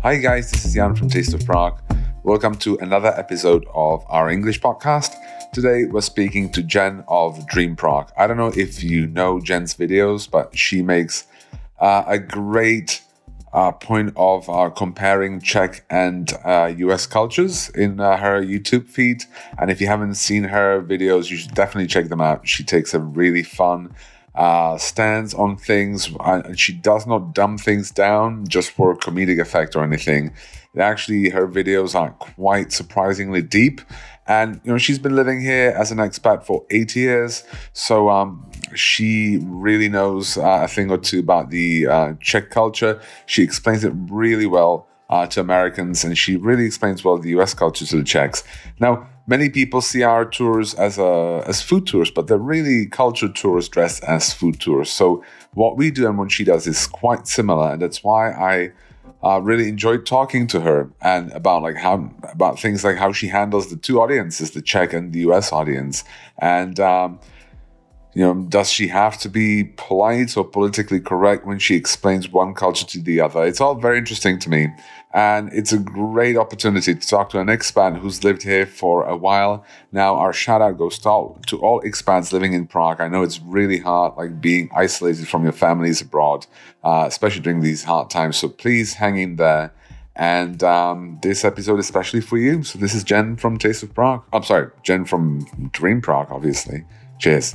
Hi guys, this is Jan from Taste of Prague. Welcome to another episode of our English podcast. Today we're speaking to Jen of Dream Prague. I don't know if you know Jen's videos, but she makes a great point of comparing Czech and US cultures in her YouTube feed. And if you haven't seen her videos, you should definitely check them out. She takes a really fun stance on things, and she does not dumb things down just for comedic effect or anything. Actually, her videos are quite surprisingly deep. And, she's been living here as an expat for 8 years. So she really knows a thing or two about the Czech culture. She explains it really well to Americans, and she really explains well the US culture to the Czechs. Now, many people see our tours as food tours, but they're really culture tours dressed as food tours. So what we do and what she does is quite similar, and that's why I really enjoyed talking to her and about things like how she handles the two audiences, the Czech and the US audience, and does she have to be polite or politically correct when she explains one culture to the other? It's all very interesting to me, and it's a great opportunity to talk to an expat who's lived here for a while. Now, our shout out goes to all expats living in Prague. I know it's really hard, being isolated from your families abroad, especially during these hard times. So please hang in there. And this episode is especially for you. So this is Jen from Taste of Prague. I'm sorry, Jen from Dream Prague, obviously. Cheers.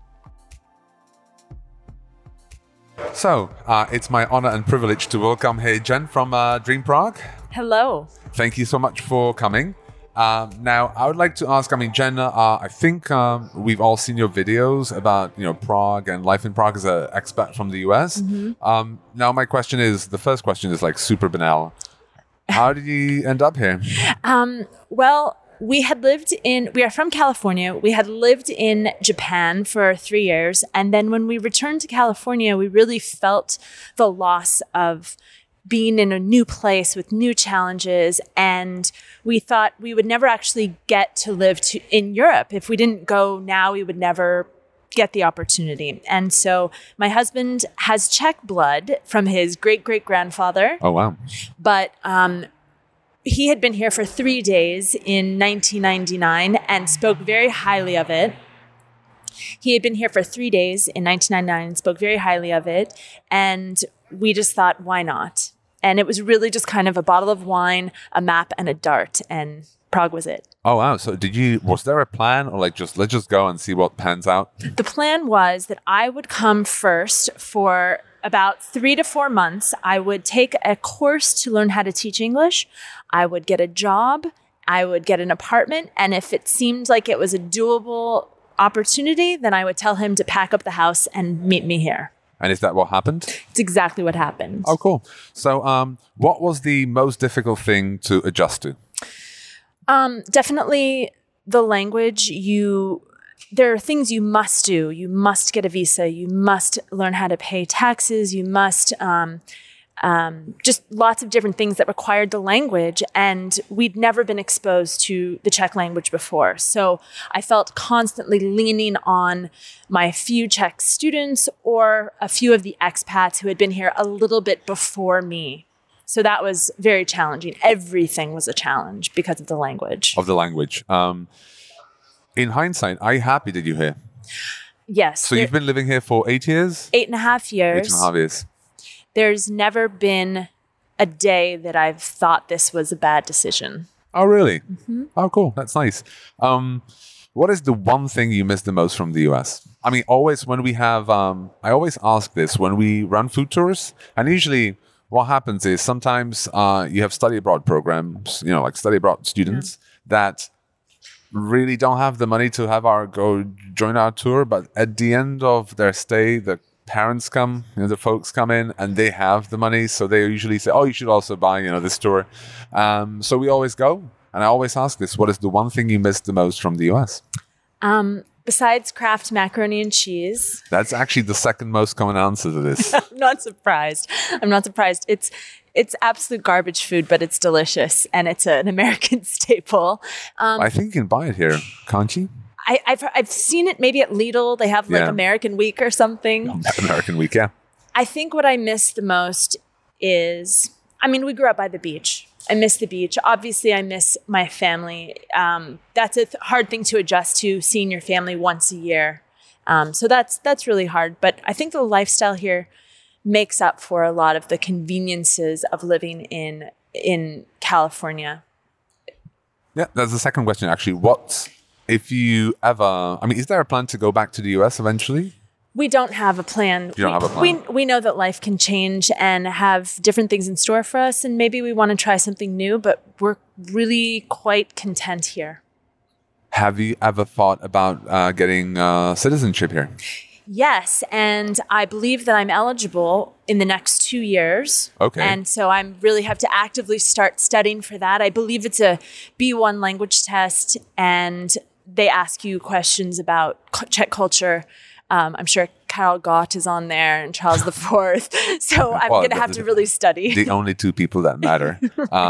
So, it's my honor and privilege to welcome here Jen from Dream Prague. Hello. Thank you so much for coming. Now, I would like to ask, Jen, I think we've all seen your videos about, Prague and life in Prague as an expat from the US. Mm-hmm. Now, the first question is super banal. How did you end up here? Well, we are from California. We had lived in Japan for 3 years. And then when we returned to California, we really felt the loss of being in a new place with new challenges. And we thought we would never actually get to live in Europe. If we didn't go now, we would never get the opportunity. And so my husband has Czech blood from his great-great-grandfather. Oh, wow. But he had been here for 3 days in 1999 and spoke very highly of it. He had been here for 3 days in 1999 and spoke very highly of it. And we just thought, why not? And it was really just kind of a bottle of wine, a map, and a dart. And Prague was it. Oh, wow. So was there a plan, or let's just go and see what pans out? The plan was that I would come first for about 3 to 4 months. I would take a course to learn how to teach English. I would get a job. I would get an apartment. And if it seemed like it was a doable opportunity, then I would tell him to pack up the house and meet me here. And is that what happened? It's exactly what happened. Oh, cool. So what was the most difficult thing to adjust to? Definitely the language. There are things you must do. You must get a visa. You must learn how to pay taxes. You must just lots of different things that required the language. And we'd never been exposed to the Czech language before. So I felt constantly leaning on my few Czech students or a few of the expats who had been here a little bit before me. So that was very challenging. Everything was a challenge because of the language. In hindsight, are you happy that you're here? Yes. So you've been living here for 8 years? 8.5 years. 8.5 years. There's never been a day that I've thought this was a bad decision. Oh, really? Mm-hmm. Oh, cool. That's nice. What is the one thing you miss the most from the US? Always when we have, I always ask this when we run food tours, and usually what happens is sometimes you have study abroad programs, study abroad students that really don't have the money to go join our tour, but at the end of their stay, the parents come, the folks come in and they have the money, so they usually say, oh, you should also buy, this tour. So we always go, and I always ask this, what is the one thing you miss the most from the US? Besides Kraft macaroni and cheese. That's actually the second most common answer to this. I'm not surprised. It's absolute garbage food, but it's delicious, and it's an American staple. I think you can buy it here, can't you? I've seen it maybe at Lidl. They have American Week or something. American Week, yeah. I think what I miss the most is I mean, we grew up by the beach. I miss the beach. Obviously, I miss my family. That's a hard thing to adjust to, seeing your family once a year. So that's really hard. But I think the lifestyle here makes up for a lot of the conveniences of living in California. Yeah, that's the second question, actually. What if you ever... I mean, is there a plan to go back to the US eventually? We don't have a plan. You don't have a plan? We know that life can change and have different things in store for us, and maybe we want to try something new, but we're really quite content here. Have you ever thought about getting citizenship here? Yes, and I believe that I'm eligible in the next 2 years. Okay. And so I really have to actively start studying for that. I believe it's a B1 language test, and they ask you questions about Czech culture. I'm sure Karel Gott is on there and Charles IV. So I'm going to have to really study. The only two people that matter.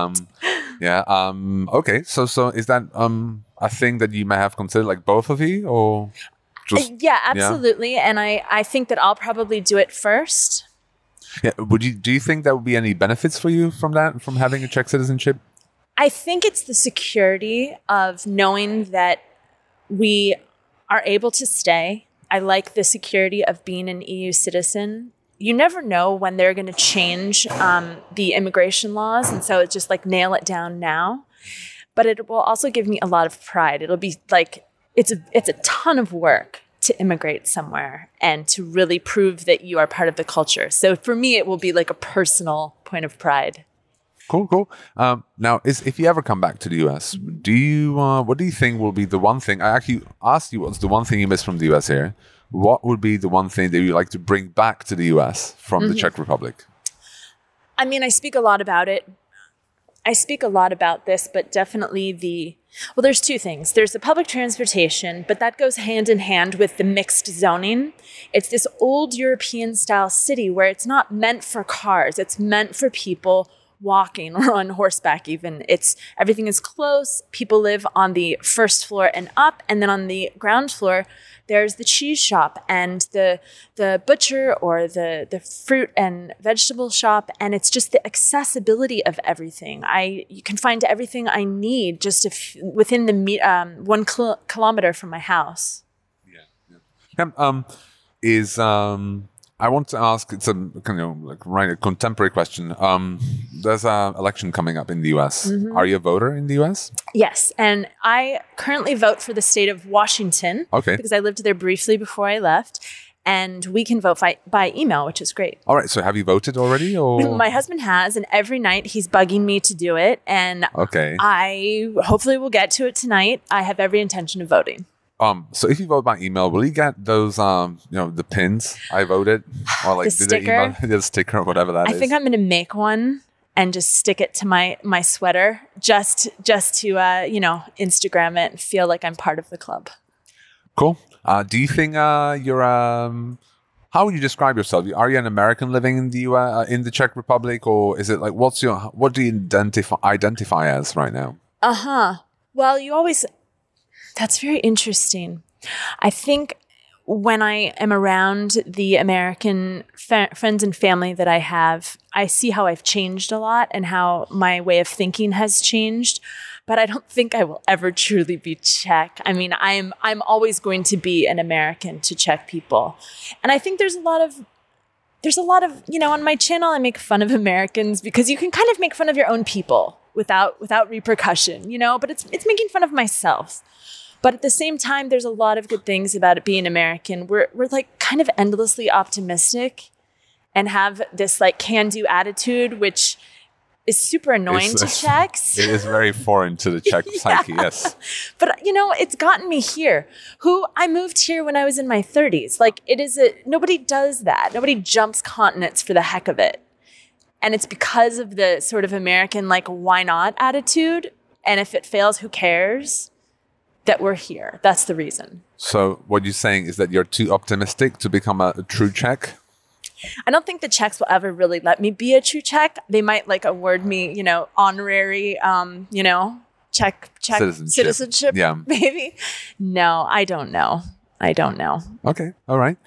Okay. So is that a thing that you may have considered, like both of you, or just? Yeah, absolutely. Yeah? And I think that I'll probably do it first. Yeah. Do you think there would be any benefits for you from that, from having a Czech citizenship? I think it's the security of knowing that we are able to stay. I like the security of being an EU citizen. You never know when they're going to change the immigration laws. And so it's just like nail it down now. But it will also give me a lot of pride. It'll be like, it's a ton of work to immigrate somewhere and to really prove that you are part of the culture. So for me, it will be like a personal point of pride. Cool. Now, if you ever come back to the US, what do you think will be the one thing? I actually asked you what's the one thing you miss from the US here. What would be the one thing that you'd like to bring back to the US from the Czech Republic? I mean, I speak a lot about it. I speak a lot about this, but definitely there's two things. There's the public transportation, but that goes hand in hand with the mixed zoning. It's this old European style city where it's not meant for cars. It's meant for people walking or on horseback even. Everything is close. People live on the first floor and up, and then on the ground floor, there's the cheese shop and the butcher or the fruit and vegetable shop, and it's just the accessibility of everything. You can find everything I need just within the 1 kilometer from my house. I want to ask, it's a contemporary question. There's an election coming up in the US. Mm-hmm. Are you a voter in the US? Yes, and I currently vote for the state of Washington. Okay. Because I lived there briefly before I left. And we can vote by email, which is great. All right, so have you voted already? Or? My husband has, and every night he's bugging me to do it. And okay. I hopefully will get to it tonight. I have every intention of voting. So if you vote by email, will you get those, the pins? I voted, or like the sticker, the sticker or whatever that is. I think I'm going to make one and just stick it to my sweater, just to Instagram it and feel like I'm part of the club. Cool. Do you think you're how would you describe yourself? Are you an American living in the US, in the Czech Republic, or is it like what do you identify as right now? Well, that's very interesting. I think when I am around the American friends and family that I have, I see how I've changed a lot and how my way of thinking has changed. But I don't think I will ever truly be Czech. I mean, I'm always going to be an American to Czech people. And I think there's a lot of, on my channel, I make fun of Americans because you can kind of make fun of your own people without repercussion, but it's making fun of myself. But at the same time, there's a lot of good things about it being American. We're like kind of endlessly optimistic and have this like can-do attitude, which is super annoying to Czechs. It is very foreign to the Czech psyche, yes. But, it's gotten me here. I moved here when I was in my 30s. Like, nobody does that. Nobody jumps continents for the heck of it. And it's because of the sort of American, like, why not attitude. And if it fails, who cares? That we're here. That's the reason. So what you're saying is that you're too optimistic to become a true Czech? I don't think the Czechs will ever really let me be a true Czech. They might like award me, honorary, Czech citizenship, yeah. maybe. No, I don't know. I don't know. Okay. All right.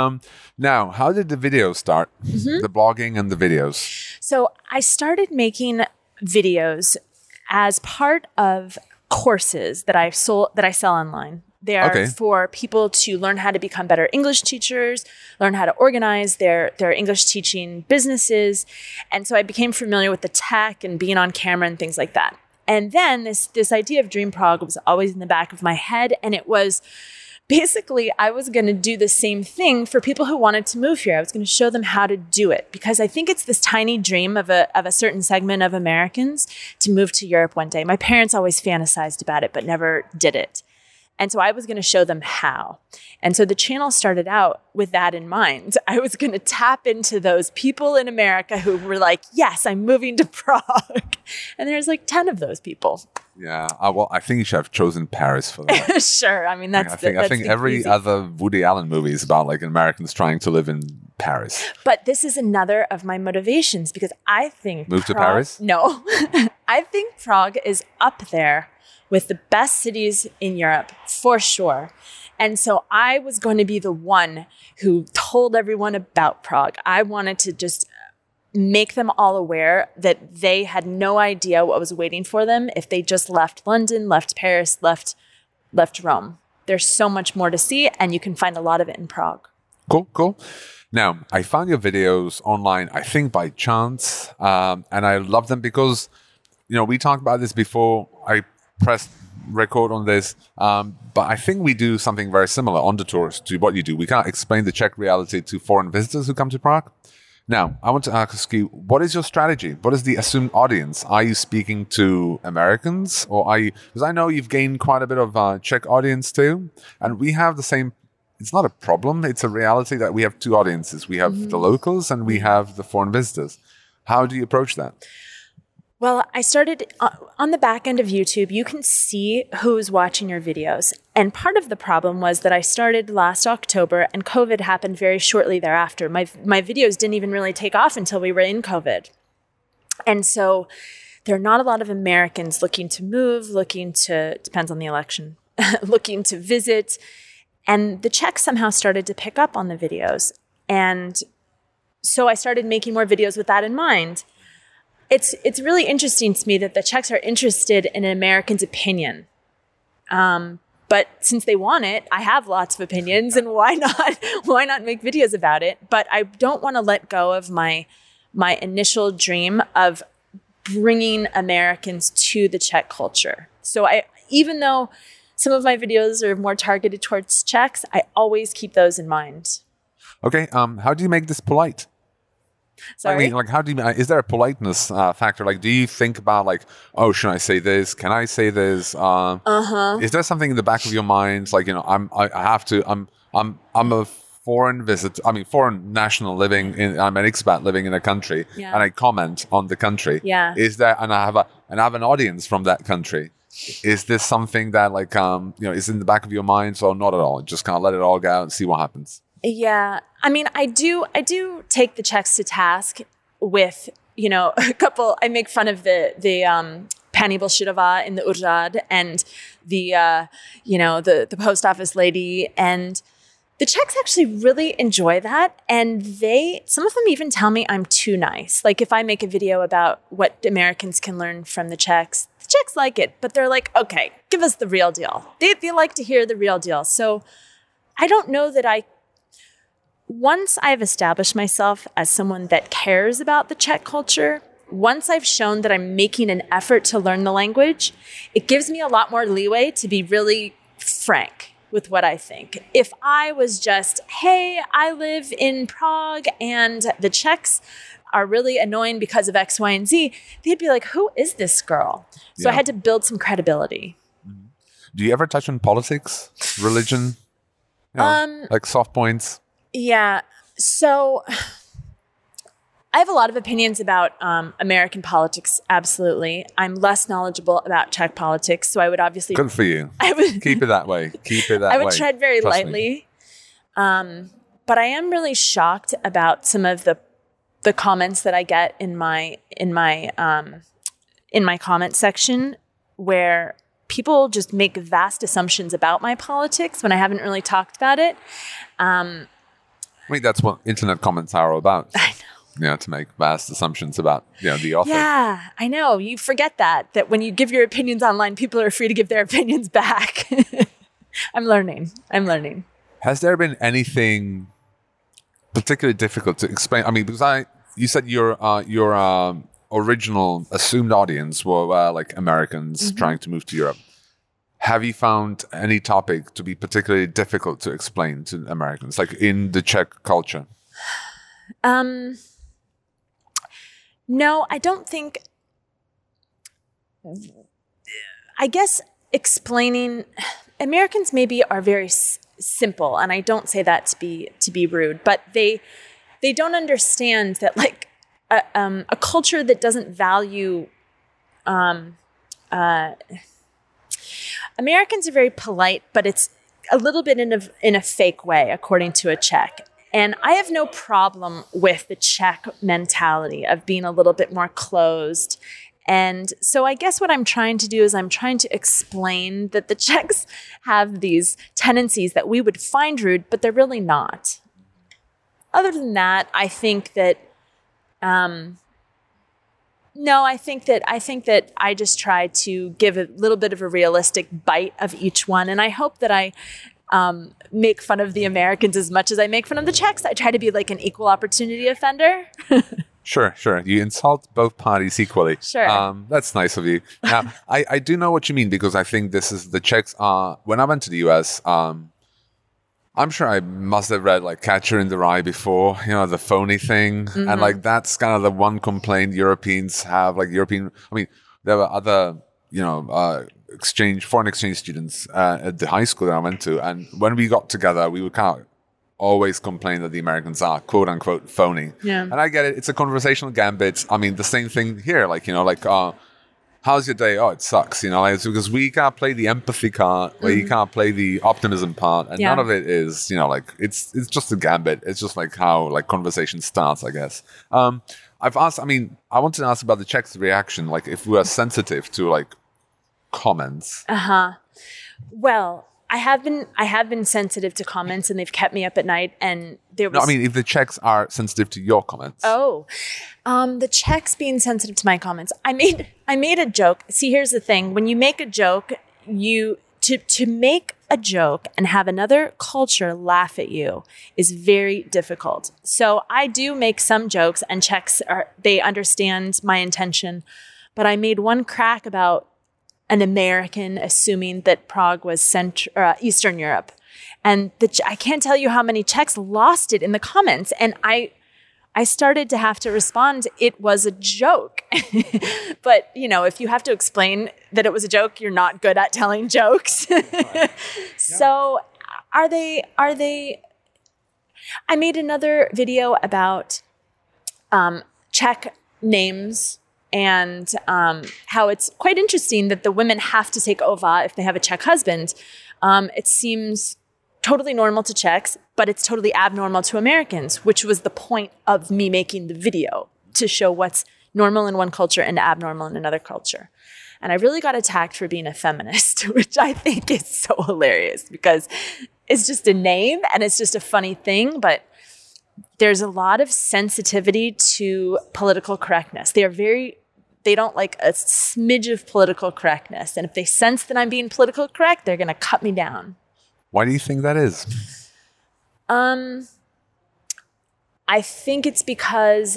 Now, how did the videos start? The blogging and the videos. So I started making videos as part of courses that I sell online. They are for people to learn how to become better English teachers, learn how to organize their English teaching businesses. And so I became familiar with the tech and being on camera and things like that. And then this idea of Dream Prague was always in the back of my head. And it was basically, I was going to do the same thing for people who wanted to move here. I was going to show them how to do it because I think it's this tiny dream of a certain segment of Americans to move to Europe one day. My parents always fantasized about it, but never did it. And so I was going to show them how. And so the channel started out with that in mind. I was going to tap into those people in America who were like, yes, I'm moving to Prague. And there's like 10 of those people. Yeah. Well, I think you should have chosen Paris for that. Sure. I mean, I think every easy. Other Woody Allen movie is about like Americans trying to live in Paris. But this is another of my motivations because I think Move to Paris? No. I think Prague is up there with the best cities in Europe, for sure. And so I was going to be the one who told everyone about Prague. I wanted to just make them all aware that they had no idea what was waiting for them if they just left London, left Paris, left Rome. There's so much more to see, and you can find a lot of it in Prague. Cool. Now, I found your videos online, I think by chance, and I love them because, we talked about this before. I pressed record on this, but I think we do something very similar on the tours to what you do. We can't explain the Czech reality to foreign visitors who come to Prague. Now, I want to ask you, what is your strategy? What is the assumed audience? Are you speaking to Americans, or are you? Because I know you've gained quite a bit of Czech audience too, and we have the same. It's not a problem; it's a reality that we have two audiences. We have the locals and we have the foreign visitors. How do you approach that? Well, I started on the back end of YouTube. You can see who's watching your videos. And part of the problem was that I started last October and COVID happened very shortly thereafter. My videos didn't even really take off until we were in COVID. And so there are not a lot of Americans looking to move, depends on the election, looking to visit. And the Czechs somehow started to pick up on the videos. And so I started making more videos with that in mind. It's really interesting to me that the Czechs are interested in an American's opinion. But since they want it, I have lots of opinions, and why not make videos about it? But I don't want to let go of my initial dream of bringing Americans to the Czech culture. So even though some of my videos are more targeted towards Czechs, I always keep those in mind. Okay. How do you make this polite? Sorry? I mean, how do you? Is there a politeness factor? Like, do you think about oh, should I say this? Can I say this? Is there something in the back of your mind, I'm a foreign foreign national I'm an expat living in a country, and I comment on the country. Yeah. Is there? And I have an audience from that country. Is this something that is in the back of your mind? So not at all. Just kind of let it all go out and see what happens. Yeah. I mean, I do take the Czechs to task with, a couple, I make fun of the Pani Bolshidova in the Úřad and the post office lady. And the Czechs actually really enjoy that. And some of them even tell me I'm too nice. Like if I make a video about what Americans can learn from the Czechs like it, but they're like, okay, give us the real deal. They like to hear the real deal. So I don't know that once I've established myself as someone that cares about the Czech culture, once I've shown that I'm making an effort to learn the language, it gives me a lot more leeway to be really frank with what I think. If I was just, hey, I live in Prague and the Czechs are really annoying because of X, Y, and Z, they'd be like, who is this girl? So I had to build some credibility. Do you ever touch on politics, religion, like soft points? Yeah. So I have a lot of opinions about American politics. Absolutely. I'm less knowledgeable about Czech politics. So I would obviously... Good for you. Keep it that way. I would tread very lightly. But I am really shocked about some of the comments that I get in my comment section where people just make vast assumptions about my politics when I haven't really talked about it. I mean, that's what internet comments are all about. I know. To make vast assumptions about, the author. Yeah, I know. You forget that when you give your opinions online, people are free to give their opinions back. I'm learning. Has there been anything particularly difficult to explain? I mean, because you said your original assumed audience were like Americans trying to move to Europe. Have you found any topic to be particularly difficult to explain to Americans, like in the Czech culture? No, I don't think. I guess explaining Americans maybe are very simple, and I don't say that to be rude, but they don't understand that like a culture that doesn't value. Americans are very polite, but it's a little bit in a fake way, according to a Czech. And I have no problem with the Czech mentality of being a little bit more closed. And so I guess what I'm trying to do is I'm trying to explain that the Czechs have these tendencies that we would find rude, but they're really not. Other than that, I think that, I think that I just try to give a little bit of a realistic bite of each one. And I hope that I make fun of the Americans as much as I make fun of the Czechs. I try to be like an equal opportunity offender. Sure. You insult both parties equally. Sure. That's nice of you. Now, I do know what you mean, because I think this is the Czechs. When I went to the US, I'm sure I must have read like Catcher in the Rye before, the phony thing. And like that's kind of the one complaint Europeans have, like I mean, there were other, foreign exchange students at the high school that I went to. And when we got together, we would kind of always complain that the Americans are quote unquote phony. Yeah. And I get it. It's a conversational gambit. I mean, the same thing here, how's your day? Oh, it sucks. It's because we can't play the empathy card, where you can't play the optimism part, and none of it is, it's just a gambit. It's just like how like conversation starts, I guess. I wanted to ask about the Czechs' reaction, like if we are sensitive to like comments. Well, I have been sensitive to comments, and they've kept me up at night. And if the Czechs are sensitive to your comments. Oh, the Czechs being sensitive to my comments. I made a joke. See, here's the thing: when you make a joke, to make a joke and have another culture laugh at you is very difficult. So I do make some jokes, and Czechs they understand my intention. But I made one crack about an American assuming that Prague was Eastern Europe. And I can't tell you how many Czechs lost it in the comments. And I started to have to respond, it was a joke. But, if you have to explain that it was a joke, you're not good at telling jokes. So are they, I made another video about Czech names, and how it's quite interesting that the women have to take OVA if they have a Czech husband. It seems totally normal to Czechs, but it's totally abnormal to Americans, which was the point of me making the video, to show what's normal in one culture and abnormal in another culture. And I really got attacked for being a feminist, which I think is so hilarious, because it's just a name and it's just a funny thing, but there's a lot of sensitivity to political correctness. They don't like a smidge of political correctness. And if they sense that I'm being political correct, they're going to cut me down. Why do you think that is? I think it's because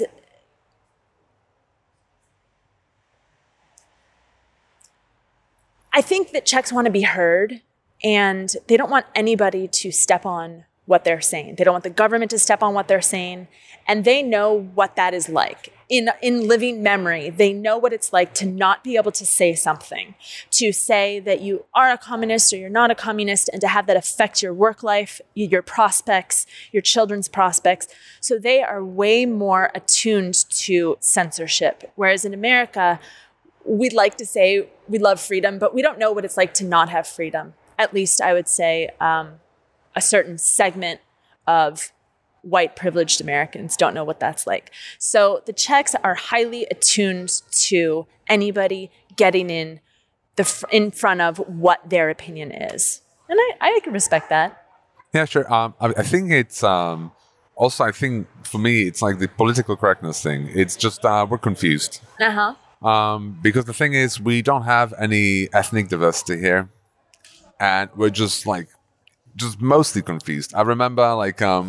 I think that Czechs want to be heard, and they don't want anybody to step on what they're saying. They don't want the government to step on what they're saying. And they know what that is like. In living memory, they know what it's like to not be able to say something, to say that you are a communist or you're not a communist, and to have that affect your work life, your prospects, your children's prospects. So they are way more attuned to censorship. Whereas in America, we'd like to say we love freedom, but we don't know what it's like to not have freedom. At least I would say a certain segment of white privileged Americans don't know what that's like. So the Czechs are highly attuned to anybody getting in in front of what their opinion is. And I can respect that. Yeah, sure. I think it's also, I think for me, it's like the political correctness thing. It's just we're confused. Because the thing is, we don't have any ethnic diversity here, and we're just mostly confused. I remember I'll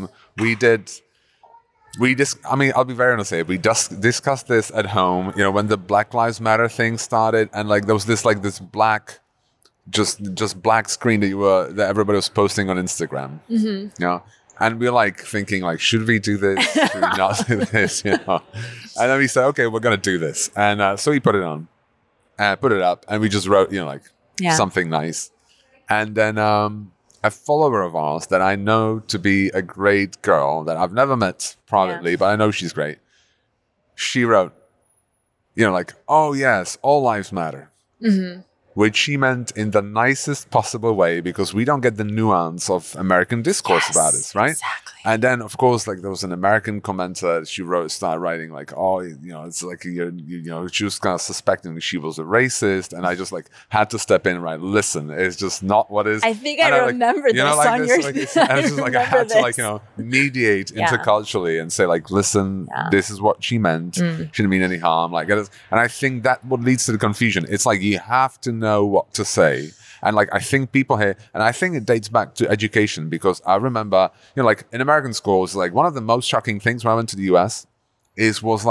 be very honest here. We just discussed this at home, when the Black Lives Matter thing started, and there was this black, just black screen that everybody was posting on Instagram. And we're thinking should we do this? Should we not do this? And then we said, okay, we're gonna do this, and so we put it on, put it up, and we just wrote something nice, and then a follower of ours that I know to be a great girl that I've never met privately, but I know she's great. She wrote, oh yes, all lives matter. Which she meant in the nicest possible way, because we don't get the nuance of American discourse about it, right? Exactly. And then, of course, there was an American commenter. She started writing it's she was kind of suspecting that she was a racist, and I just had to step in and write, listen, it's just not what is. I think I remember this on your. And it's just I had to mediate interculturally and say listen, this is what she meant. She didn't mean any harm. And I think that what leads to the confusion. It's you have to know what to say. And I think people here, and I think it dates back to education, because I remember, in American schools, one of the most shocking things when I went to the US was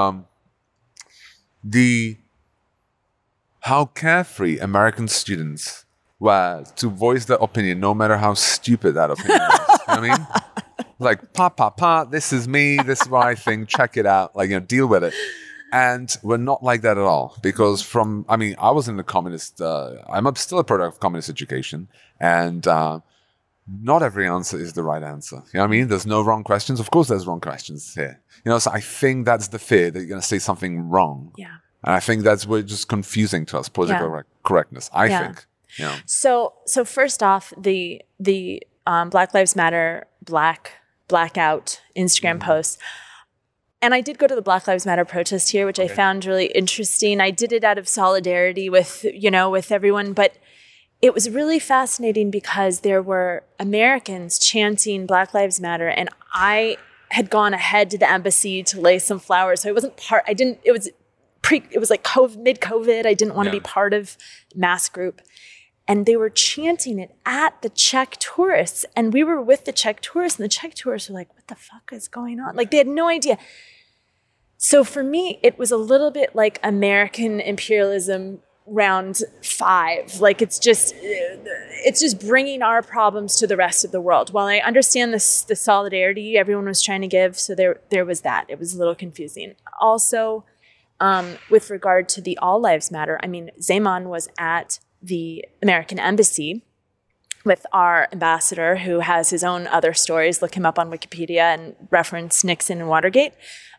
how carefree American students were to voice their opinion, no matter how stupid that opinion is. You know what I mean? This is me, this is what I think, check it out, deal with it. And we're not like that at all, because I was in the communist, I'm still a product of communist education, and not every answer is the right answer. You know what I mean? There's no wrong questions. Of course there's wrong questions here. So I think that's the fear that you're going to say something wrong. Yeah. And I think we're just confusing to us political correctness, I think. So first off, the Black Lives Matter blackout Instagram post. And I did go to the Black Lives Matter protest here, which I found really interesting. I did it out of solidarity with everyone, but it was really fascinating because there were Americans chanting Black Lives Matter, and I had gone ahead to the embassy to lay some flowers. So it wasn't it was mid-COVID. I didn't want to be part of mass group. And they were chanting it at the Czech tourists. And we were with the Czech tourists, and the Czech tourists were like, what the fuck is going on? They had no idea. So for me, it was a little bit like American imperialism round 5. It's just bringing our problems to the rest of the world. While I understand the solidarity everyone was trying to give, so there was that. It was a little confusing. Also, with regard to the All Lives Matter, Zeman was at the American embassy with our ambassador, who has his own other stories. Look him up on Wikipedia and reference Nixon and Watergate.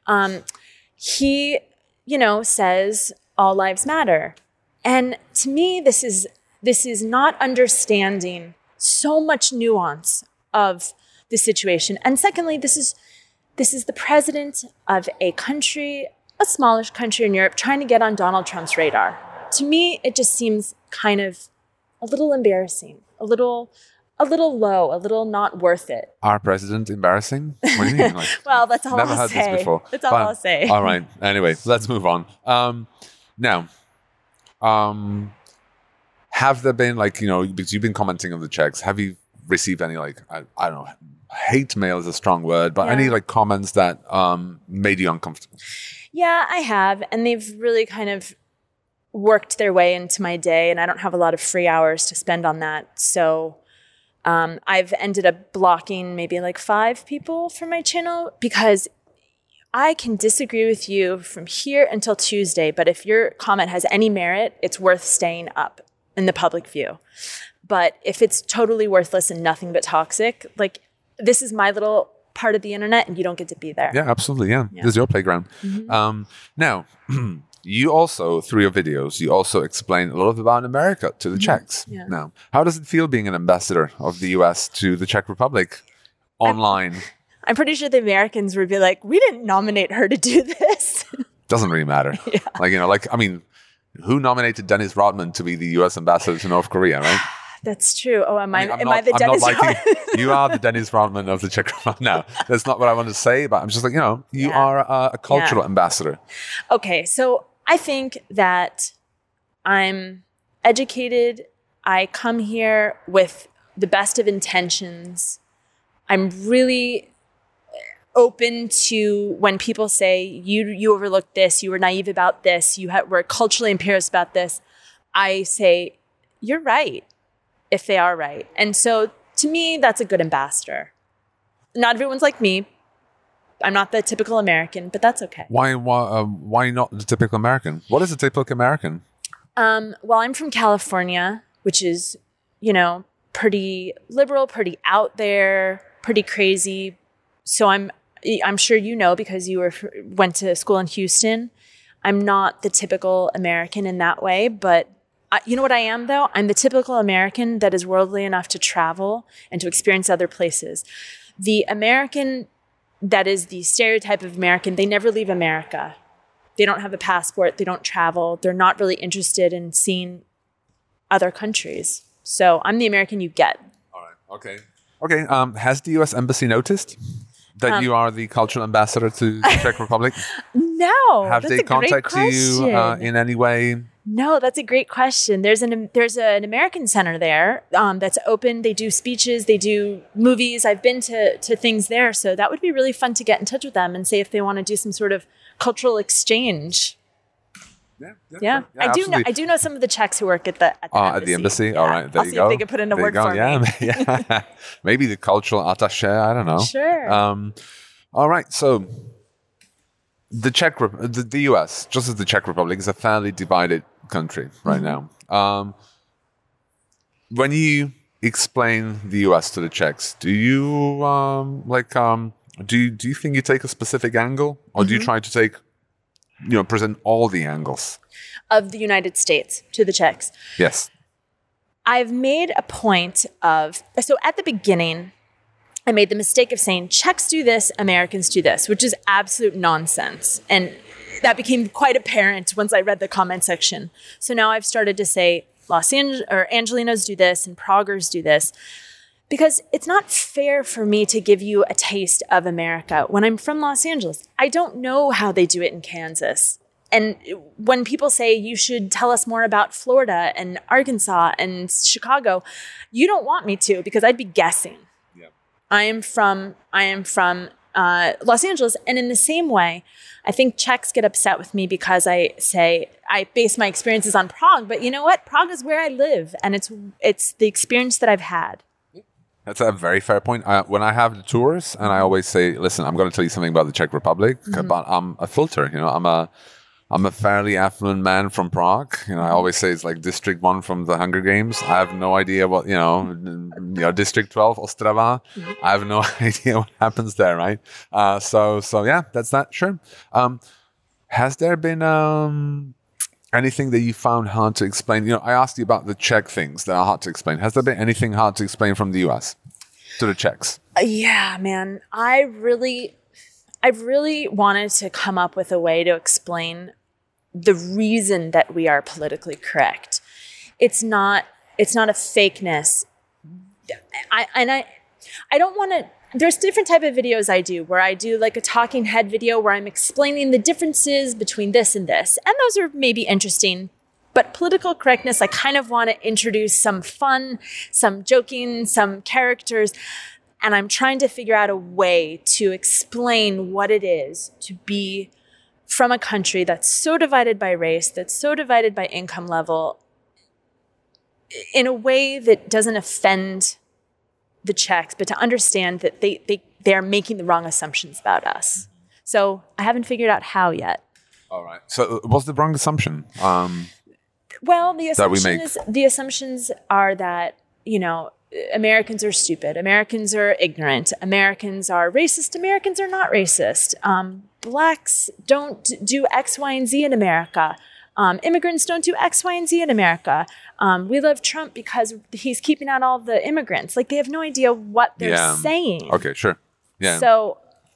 He, says all lives matter. And to me, this is not understanding so much nuance of the situation. And secondly, this is the president of a country, a smallish country in Europe, trying to get on Donald Trump's radar. To me, it just seems kind of a little embarrassing, a little low, a little not worth it. Our president embarrassing? What do you mean? Well, that's all I'll say. Never heard this before. That's all I'll say. All right. Anyway, let's move on. Now, have there been because you've been commenting on the Czechs, have you received any I don't know, hate mail is a strong word, but any comments that made you uncomfortable? Yeah, I have, and they've really kind of worked their way into my day, and I don't have a lot of free hours to spend on that. So I've ended up blocking maybe 5 people from my channel, because I can disagree with you from here until Tuesday, but if your comment has any merit, it's worth staying up in the public view. But if it's totally worthless and nothing but toxic, this is my little part of the internet, and you don't get to be there. Yeah, absolutely. Yeah. This is your playground. Mm-hmm. Now, you also, through your videos, you also explain a lot about America to the Czechs. Yeah. Now, how does it feel being an ambassador of the US to the Czech Republic online? I'm pretty sure the Americans would be like, we didn't nominate her to do this. Doesn't really matter. Yeah. who nominated Dennis Rodman to be the U.S. ambassador to North Korea, right? That's true. Oh, am I I'm the Dennis Rodman? You are the Dennis Rodman of the Czech Republic. No, that's not what I want to say, but I'm just like, you are a cultural ambassador. Okay, so I think that I'm educated. I come here with the best of intentions. I'm really open to when people say, you overlooked this, you were naive about this, were culturally imperious about this. I say, you're right, if they are right. And so to me, that's a good ambassador. Not everyone's like me. I'm not the typical American, but that's okay. Why not the typical American? What is a typical American? Well, I'm from California, which is, pretty liberal, pretty out there, pretty crazy. So I'm sure because you went to school in Houston. I'm not the typical American in that way, but you know what I am, though? I'm the typical American that is worldly enough to travel and to experience other places. The American that is the stereotype of American, they never leave America. They don't have a passport. They don't travel. They're not really interested in seeing other countries. So I'm the American you get. All right. Okay. Has the U.S. Embassy noticed that you are the cultural ambassador to the Czech Republic? No. Have they contacted you in any way? No, that's a great question. There's an American center there that's open. They do speeches. They do movies. I've been to things there. So that would be really fun to get in touch with them and say if they want to do some sort of cultural exchange. Yeah. I do know some of the Czechs who work at the embassy. At the embassy? Yeah. All right, there I'll you see go. if they can put in a word for me. Yeah. Maybe the cultural attaché, I don't know. Sure. All right, so the US, just as the Czech Republic, is a fairly divided country right now. When you explain the US to the Czechs, do you do you think you take a specific angle, or do you try to present all the angles of the United States to the Czechs? Yes. I've made a point so at the beginning, I made the mistake of saying Czechs do this, Americans do this, which is absolute nonsense. And that became quite apparent once I read the comment section. So now I've started to say Angelinos do this and Praguers do this, because it's not fair for me to give you a taste of America. When I'm from Los Angeles, I don't know how they do it in Kansas. And when people say you should tell us more about Florida and Arkansas and Chicago, you don't want me to, because I'd be guessing. Yep. I am from Los Angeles. And in the same way, I think Czechs get upset with me because I say I base my experiences on Prague. But you know what? Prague is where I live. And it's the experience that I've had. That's a very fair point. When I have the tours, and I always say, listen, I'm going to tell you something about the Czech Republic, but I'm a filter. I'm a fairly affluent man from Prague. I always say it's like District 1 from the Hunger Games. I have no idea what, District 12, Ostrava. I have no idea what happens there, right? So yeah, that's that. Sure. Has there been anything that you found hard to explain? I asked you about the Czech things that are hard to explain. Has there been anything hard to explain from the US to the Czechs? Yeah, man. I've really wanted to come up with a way to explain the reason that we are politically correct. It's not a fakeness. I don't want to. There's different type of videos I do where I do like a talking head video where I'm explaining the differences between this and this. And those are maybe interesting. But political correctness, I kind of want to introduce some fun, some joking, some characters. And I'm trying to figure out a way to explain what it is to be from a country that's so divided by race, that's so divided by income level, in a way that doesn't offend the Czechs, but to understand that they are making the wrong assumptions about us. So I haven't figured out how yet. All right. So what's the wrong assumption? Well, the assumptions are that, Americans are stupid. Americans are ignorant. Americans are racist. Americans are not racist. Blacks don't do X, Y, and Z in America. Immigrants don't do X, Y, and Z in America. We love Trump because he's keeping out all the immigrants. Like, they have no idea what they're saying. Okay, sure. Yeah. So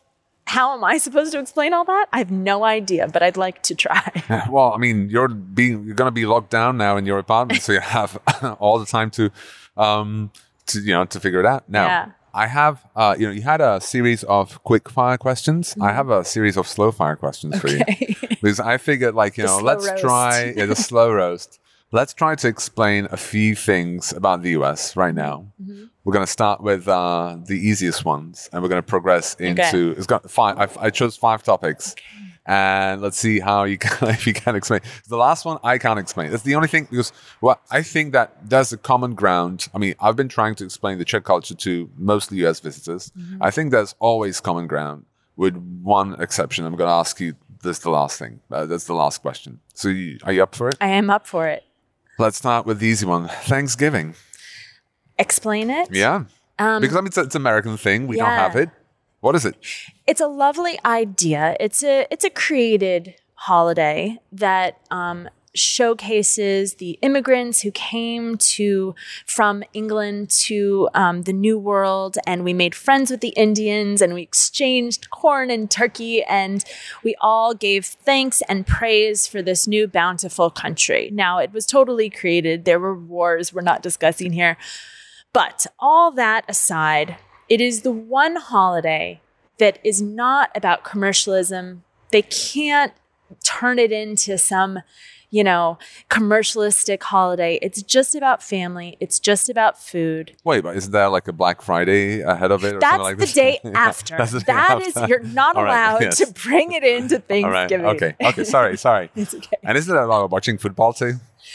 how am I supposed to explain all that? I have no idea, but I'd like to try. Well, I mean, you're going to be locked down now in your apartment, so you have all the time to figure it out. Now, Yeah. I have, you had a series of quick fire questions. I have a series of slow fire questions for you, because I figured, slow let's roast. try the slow roast. Let's try to explain a few things about the US right now. Mm-hmm. We're going to start with the easiest ones, and we're going to progress into. It's got 5. I chose 5 topics, and let's see how you can, if you can explain. The last one I can't explain. That's the only thing, because I think that there's a common ground. I mean, I've been trying to explain the Czech culture to mostly US visitors. Mm-hmm. I think there's always common ground, with one exception. I'm going to ask you this, the last thing. That's the last question. So, are you up for it? I am up for it. Let's start with the easy one. Thanksgiving. Explain it? Yeah. Because it's an American thing. We don't have it. What is it? It's a lovely idea. It's a created holiday that showcases the immigrants who came from England to the New World, and we made friends with the Indians, and we exchanged corn and turkey, and we all gave thanks and praise for this new bountiful country. Now, it was totally created. There were wars we're not discussing here. But all that aside, it is the one holiday that is not about commercialism. They can't turn it into some, commercialistic holiday. It's just about family. It's just about food. Wait, but isn't there like a Black Friday ahead of it? Or That's something like the this? day after. That's the day That after. is, you're not All right, allowed yes. to bring it into Thanksgiving. All right. Okay. Sorry. It's okay. And isn't it about watching football too?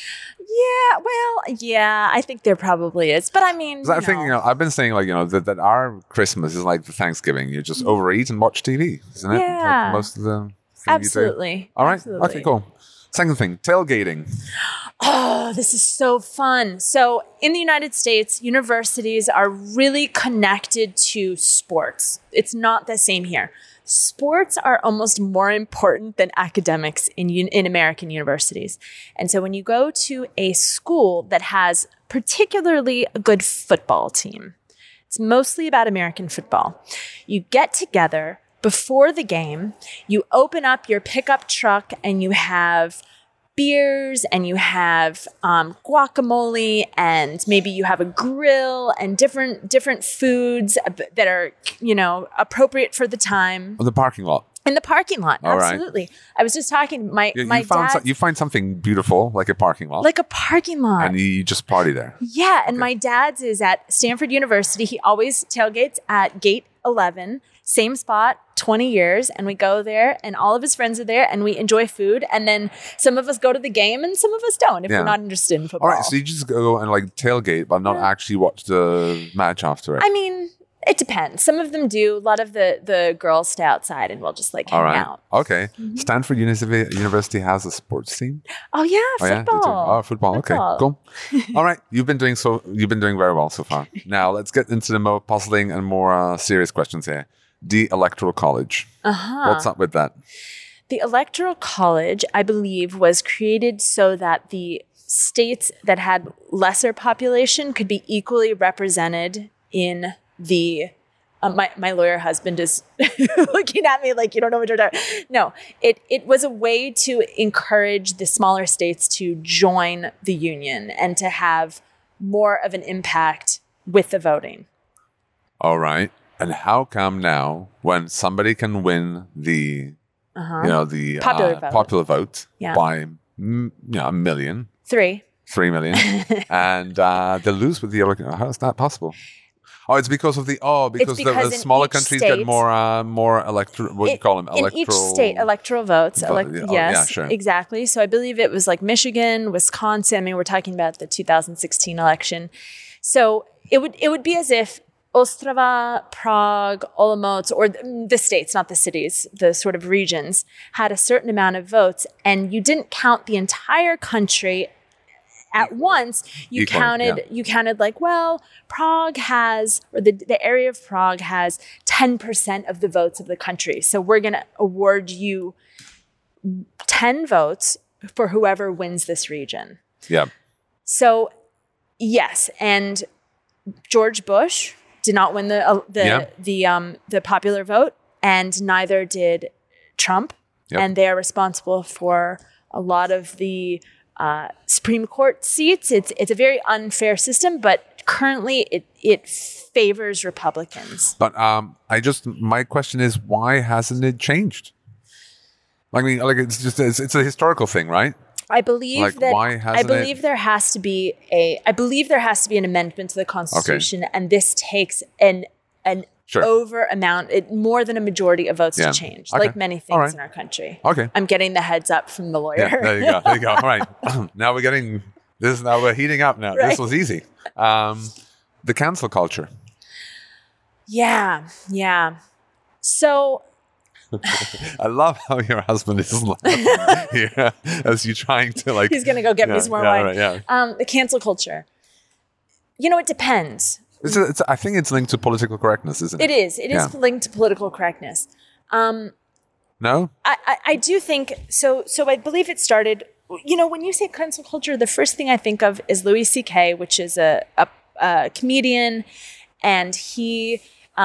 Yeah, I think there probably is. But I mean, 'Cause I think, I've been saying that our Christmas is like the Thanksgiving. You just overeat and watch TV, isn't it? Yeah. Like most of the thing Absolutely. You do. All right. Absolutely. Okay, cool. Second thing, tailgating. Oh, this is so fun. So in the United States, universities are really connected to sports. It's not the same here. Sports are almost more important than academics in American universities. And so when you go to a school that has particularly a good football team, it's mostly about American football. You get together before the game, you open up your pickup truck, and you have beers, and you have guacamole, and maybe you have a grill and different foods that are appropriate for the time. Oh, the parking lot. In the parking lot, All right. absolutely. I was just talking. My dad, You find something beautiful like a parking lot, like a parking lot, and you just party there. Yeah, and my dad's is at Stanford University. He always tailgates at Gate 11, same spot, 20 years, and we go there, and all of his friends are there, and we enjoy food, and then some of us go to the game, and some of us don't if we're not interested in football. All right, so you just go and tailgate, but not actually watch the match after it. I mean, it depends. Some of them do. A lot of the girls stay outside, and we'll just hang out. Okay. Mm-hmm. Stanford University has a sports team. Oh yeah, football. Football. Okay, cool. All right, you've been doing very well so far. Now let's get into the more puzzling and more serious questions here. The Electoral College. What's up with that? The Electoral College, I believe, was created so that the states that had lesser population could be equally represented in the my lawyer husband is looking at me like you don't know what you're talking about. No, it was a way to encourage the smaller states to join the union and to have more of an impact with the voting. All right. And how come now, when somebody can win the popular vote by a million, 3 million, and they lose with the other? How is that possible? Oh, it's because of the the smaller countries get more electoral. What do you call them? In each state, electoral votes. Yes, yeah, sure. Exactly. So I believe it was like Michigan, Wisconsin. I mean, we're talking about the 2016 election. So it would be as if Ostrava, Prague, Olomouc, or the states, not the cities, the sort of regions, had a certain amount of votes, and you didn't count the entire country at once. You counted like, well, Prague has, or the area of Prague has 10% of the votes of the country. So we're going to award you 10 votes for whoever wins this region. Yeah. So, yes, and George Bush did not win the popular vote, and neither did Trump. Yep. And they are responsible for a lot of the Supreme Court seats. It's a very unfair system, but currently it favors Republicans. But my question is, why hasn't it changed? I mean, like it's a historical thing, right? I believe Like, that why hasn't there has to be an amendment to the Constitution, and this takes an over amount, more than a majority of votes to change, like many things in our country. Okay. I'm getting the heads up from the lawyer. Yeah, there you go. All right. Now we're heating up now. Right. This was easy. The cancel culture. Yeah. So I love how your husband is laughing here as you're trying to like. he's going to go get me some more wine. Right, yeah. The cancel culture. It depends. I think it's linked to political correctness, isn't it? It is. It is linked to political correctness. No? I do think so. So I believe it started. When you say cancel culture, the first thing I think of is Louis C.K., which is a comedian, and he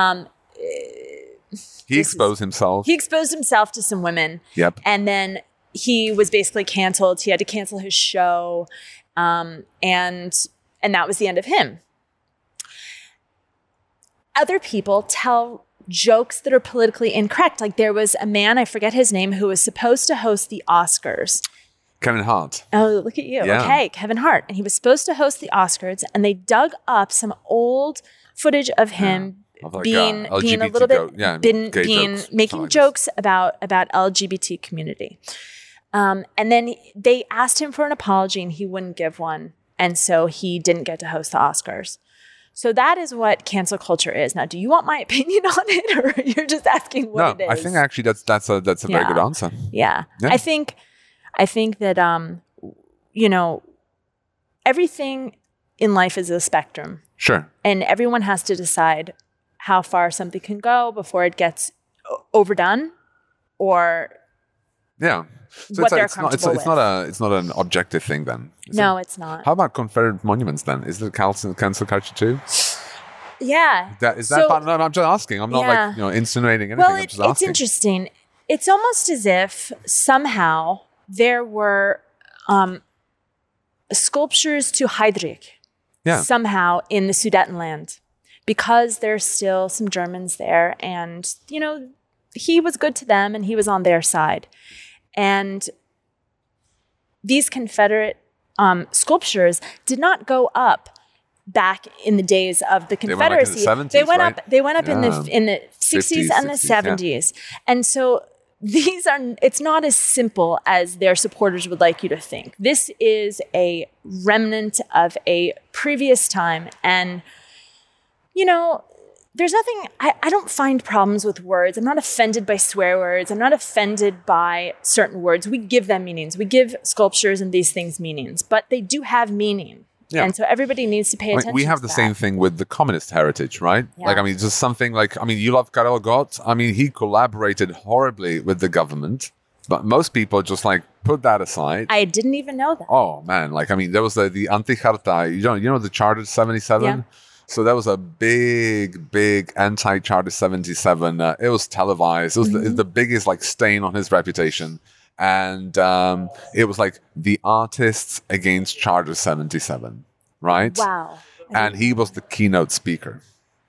exposed himself. He exposed himself to some women. Yep. And then he was basically canceled. He had to cancel his show, and that was the end of him. Other people tell jokes that are politically incorrect. Like there was a man, I forget his name, who was supposed to host the Oscars. Kevin Hart. Oh, look at you. Yeah. Okay, Kevin Hart. And he was supposed to host the Oscars, and they dug up some old footage of him being a little bit making jokes about LGBT community. And then they asked him for an apology, and he wouldn't give one. And so he didn't get to host the Oscars. So that is what cancel culture is. Now, do you want my opinion on it, or you're just asking what it is? No, I think actually that's a very good answer. Yeah. I think that everything in life is a spectrum. Sure. And everyone has to decide how far something can go before it gets overdone, or So what they're comfortable with. It's not an objective thing then. No, it's not. How about Confederate monuments then? Is it cancel culture too? Yeah. No, I'm just asking. I'm not insinuating anything. I'm just asking. It's interesting. It's almost as if somehow there were sculptures to Heydrich somehow in the Sudetenland, because there's still some Germans there, and he was good to them and he was on their side. And these Confederate sculptures did not go up back in the days of the Confederacy. They went up in the 70s, They went up in the 60s and the 70s. Yeah. And so it's not as simple as their supporters would like you to think. This is a remnant of a previous time. And, there's nothing, I don't find problems with words. I'm not offended by swear words. I'm not offended by certain words. We give them meanings. We give sculptures and these things meanings, but they do have meaning. Yeah. And so everybody needs to pay attention to that. We have the same thing with the communist heritage, right? Yeah. Just something you love Karel Gott. He collaborated horribly with the government, but most people just put that aside. I didn't even know that. Oh, man. there was the Anti-Charta, the Charter 77? Yeah. So that was a big, big anti-Charter 77. It was televised. It was the biggest stain on his reputation. And it was the artists against Charter 77, right? Wow. And he was the keynote speaker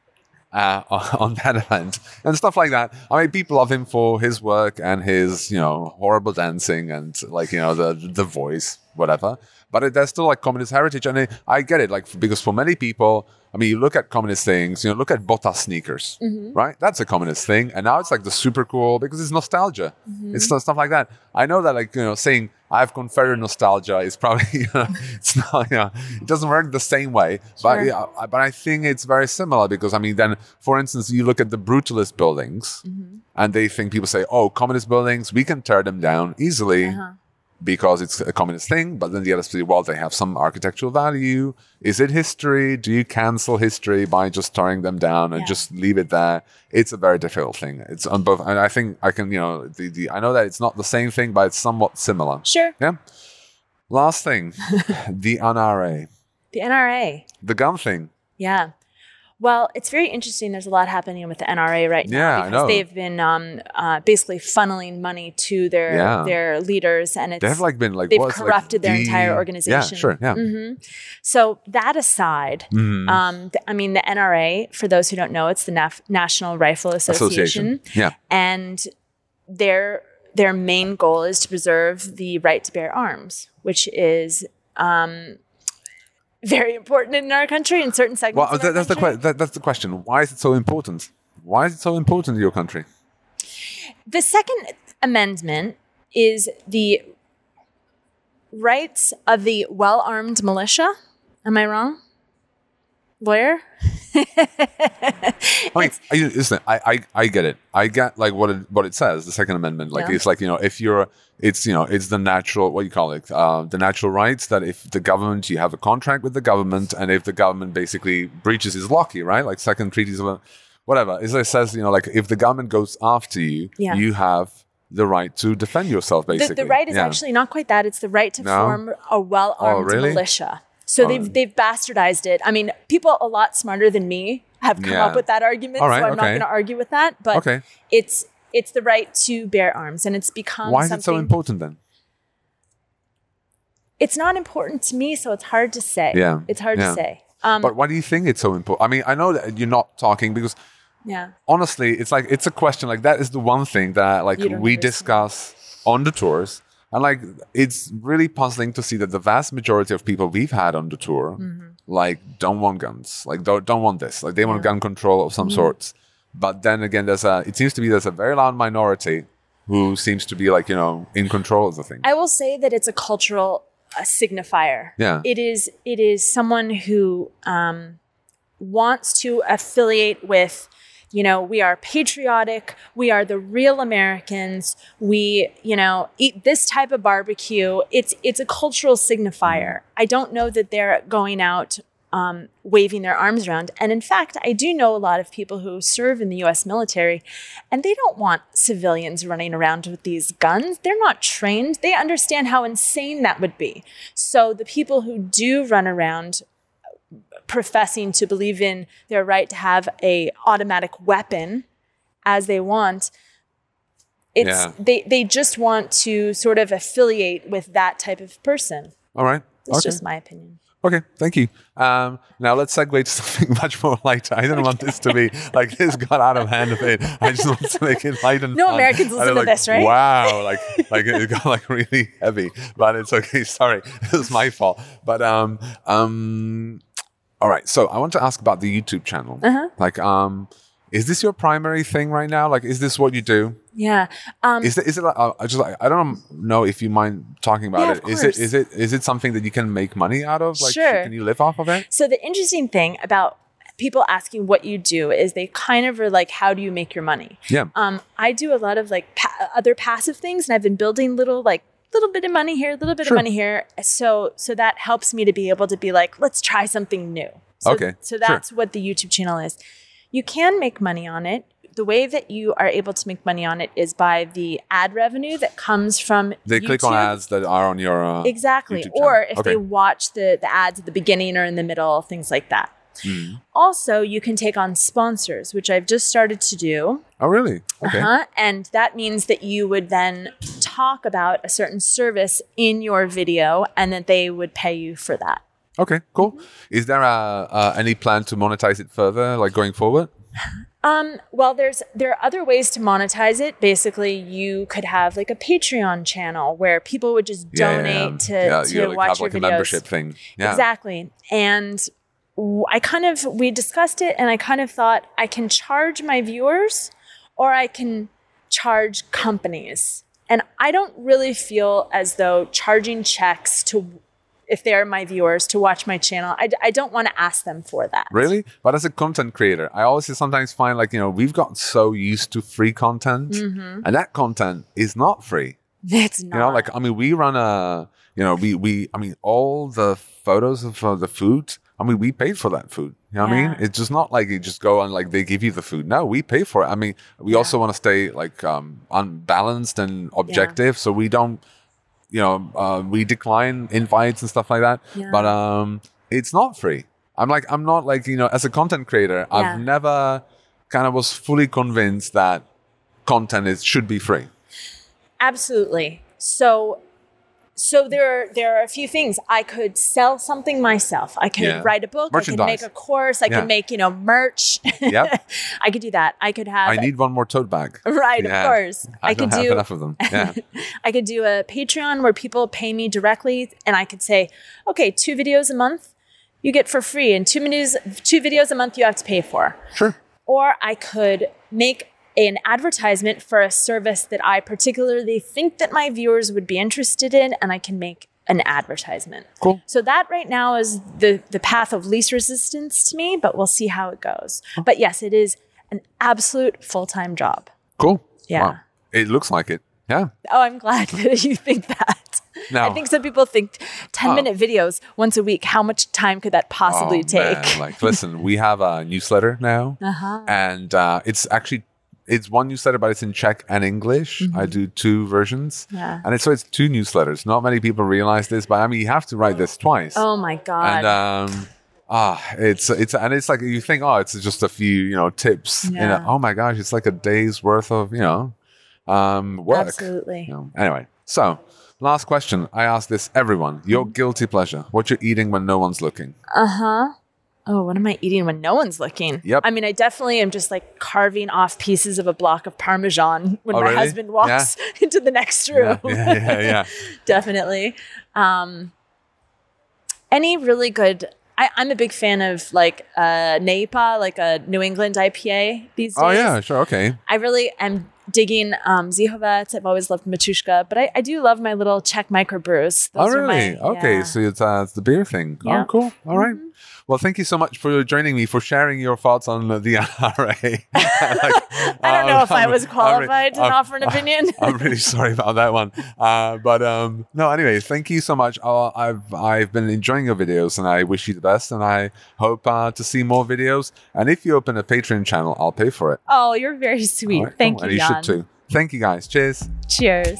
on that event and stuff like that. People love him for his work and his, horrible dancing and the voice, whatever. But there's still communist heritage. And I get it, because for many people, you look at communist things, look at Bota sneakers, right? That's a communist thing. And now it's the super cool because it's nostalgia. It's stuff like that. I know that saying I have Confederate nostalgia is probably, it's not, it doesn't work the same way. Sure. But I think it's very similar because, then, for instance, you look at the brutalist buildings and people say, oh, communist buildings, we can tear them down easily. Because it's a communist thing, but then the other say, well, they have some architectural value. Is it history? Do you cancel history by just tearing them down and just leave it there? It's a very difficult thing. It's on both, and I think I can, I know that it's not the same thing, but it's somewhat similar. Sure. Yeah. Last thing, the NRA. The NRA. The gun thing. Yeah. Well, it's very interesting. There's a lot happening with the NRA right now Yeah, I because know. they've been basically funneling money to their leaders, and They have like been like they've what's, corrupted like, their entire organization. Yeah, sure. Yeah. So that aside, I mean, the NRA, for those who don't know, it's the National Rifle Association. Yeah. And their main goal is to preserve the right to bear arms, which is very important in our country in certain segments. Well, that's the question. Why is it so important? Why is it so important in your country? The Second Amendment is the rights of the well-armed militia. Am I wrong? Lawyer? Listen, I get it. I get like what it says, the Second Amendment. Like it's like, if you're, it's the natural, what do you call it? The natural rights that if the government, you have a contract with the government, and if the government basically breaches is lucky, right? Like second treaties of whatever. As it says, like if the government goes after you, you have the right to defend yourself, basically. The right is actually not quite that. It's the right to form a well-armed militia. So they've bastardized it. I mean, people a lot smarter than me have come up with that argument, so I'm not going to argue with that. But it's the right to bear arms, and it's become Why is it so important then? It's not important to me, so it's hard to say. Yeah. It's hard to say. But why do you think it's so important? I mean, I know that you're not talking because honestly, it's like, it's a question. Like that is the one thing that like we discuss on the tours. And like, it's really puzzling to see that the vast majority of people we've had on the tour, like, don't want guns, like, don't want this, like, they want gun control of some sorts. But then again, it seems to be there's a very loud minority who seems to be like, in control of the thing. I will say that it's a cultural signifier. Yeah, it is someone who wants to affiliate with. We are patriotic. We are the real Americans. We, eat this type of barbecue. It's a cultural signifier. I don't know that they're going out waving their arms around. And in fact, I do know a lot of people who serve in the U.S. military, and they don't want civilians running around with these guns. They're not trained. They understand how insane that would be. So the people who do run around professing to believe in their right to have a automatic weapon as they want, they just want to sort of affiliate with that type of person. All right. It's just my opinion. Okay, thank you. Now let's segue to something much more lighter. I didn't want this to be like this got out of hand a bit. I just want to make it light and no fun. Americans listen to this, right? Wow, like it got like really heavy, but it's okay. Sorry, it was my fault. But all right, so I want to ask about the YouTube channel. Like, is this your primary thing right now? Like, is this what you do? Yeah. Is it like, I don't know if you mind talking about it. Is it something that you can make money out of? Like, sure. Can you live off of it? So the interesting thing about people asking what you do is they kind of are like, how do you make your money? Yeah. I do a lot of like other passive things, and I've been building little bit of money here, a little bit of money here. So that helps me to be able to be like, let's try something new. So that's what the YouTube channel is. You can make money on it. The way that you are able to make money on it is by the ad revenue that comes from They YouTube. click on ads that are on your exactly, YouTube or channel. if they watch the ads at the beginning or in the middle, things like that. Also, you can take on sponsors, which I've just started to do. Oh, really? Okay. And that means that you would then talk about a certain service in your video, and that they would pay you for that. Okay, cool. Is there any plan to monetize it further, like going forward? Well, there are other ways to monetize it. Basically, you could have like a Patreon channel where people would just donate to you watch have your like videos. A membership thing. Yeah. Exactly. And we discussed it, and I kind of thought I can charge my viewers or I can charge companies. And I don't really feel as though charging checks if they're my viewers to watch my channel, I don't want to ask them for that. Really? But as a content creator, I always sometimes find like, we've got so used to free content, and that content is not free. It's not. We run all the photos of the food, we paid for that food. You know what I mean? It's just not like you just go and like they give you the food. No, we pay for it. We also want to stay like unbalanced and objective, so we don't, we decline invites and stuff like that. Yeah. But it's not free. I'm not like, as a content creator, I've never kind of was fully convinced that content should be free. Absolutely. So there are a few things. I could sell something myself. I could write a book. I could make a course. I could make, merch. Yep. I could do that. I could have. I need one more tote bag. Right, of course. I don't have enough of them. Yeah. I could do a Patreon where people pay me directly, and I could say, okay, 2 videos a month you get for free, and 2 videos a month you have to pay for. Sure. Or I could make an advertisement for a service that I particularly think that my viewers would be interested in, and I can make an advertisement. Cool. So that right now is the path of least resistance to me, but we'll see how it goes. But yes, it is an absolute full-time job. Cool. Yeah. Wow. It looks like it. Yeah. Oh, I'm glad that you think that. No. I think some people think 10-minute videos once a week. How much time could that possibly take? Man. Listen, we have a newsletter now, and it's one newsletter, but it's in Czech and English. I do 2 versions. Yeah. And it's 2 newsletters. Not many people realize this, but I mean, you have to write this twice. Oh my God. And it's like, you think, it's just a few, tips. Yeah. Oh my gosh, it's like a day's worth of, work. Absolutely. Anyway, so last question. I ask this everyone. Your guilty pleasure. What you're eating when no one's looking. Oh, what am I eating when no one's looking? Yep. I mean, I definitely am just like carving off pieces of a block of Parmesan when my husband walks into the next room. Yeah. Definitely. Any really good... I'm a big fan of like NEIPA, like a New England IPA these days. Oh, yeah, sure. Okay. I really am digging Zihovec. I've always loved Matushka, but I do love my little Czech microbrews. Those really? Okay, so it's the beer thing. Yeah. Oh, cool. All right. Well, thank you so much for joining me, for sharing your thoughts on the NRA. I don't know if I was qualified to offer an opinion. I'm really sorry about that one. No, anyway, thank you so much. I've been enjoying your videos, and I wish you the best, and I hope to see more videos. And if you open a Patreon channel, I'll pay for it. Oh, you're very sweet. Right, thank you, and you Jan. should too. Thank you, guys. Cheers. Cheers.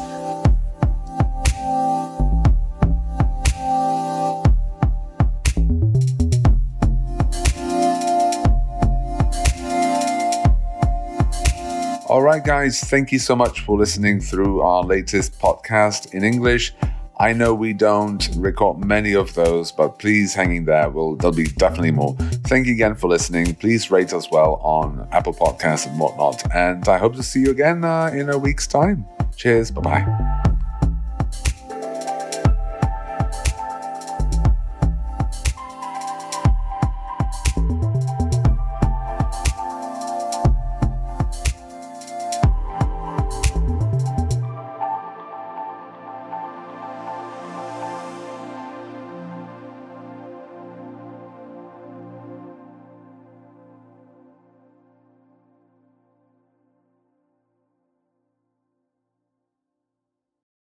All right, guys, thank you so much for listening through our latest podcast in English. I know we don't record many of those, but please hang in there. There'll be definitely more. Thank you again for listening. Please rate us well on Apple Podcasts and whatnot. And I hope to see you again in a week's time. Cheers. Bye-bye.